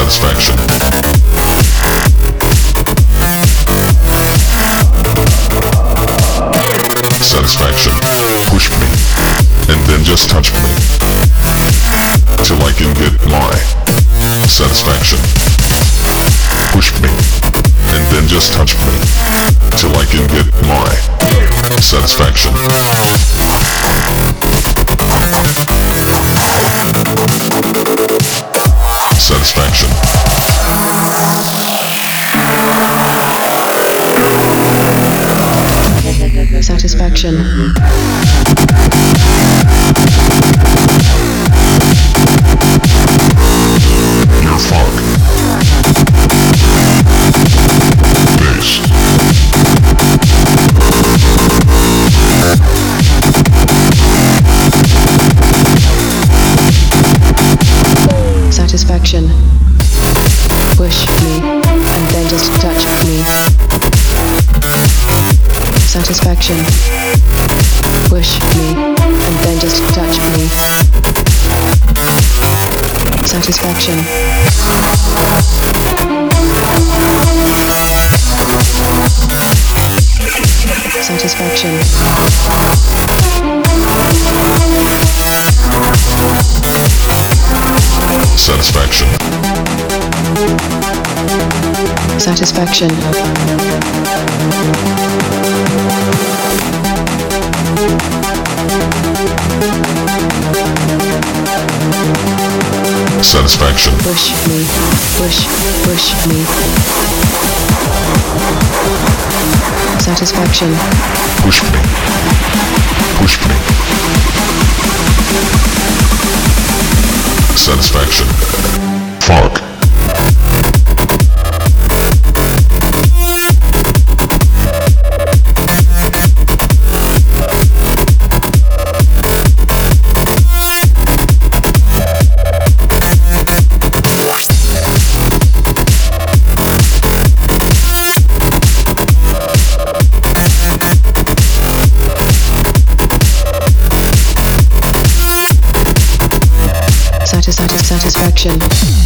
Satisfaction. Satisfaction. Push me, and then just touch me, till I can get my satisfaction. Push me, and then just touch me, till I can get my satisfaction. Satisfaction. Satisfaction. Your funk. Bass. Satisfaction. Push me, and then just touch me. Satisfaction. Push me, and then just touch me. Satisfaction. Satisfaction. Satisfaction. Satisfaction. Satisfaction. Push me, push me. Satisfaction. Push me. Push me. Satisfaction. Funk. Satisfaction.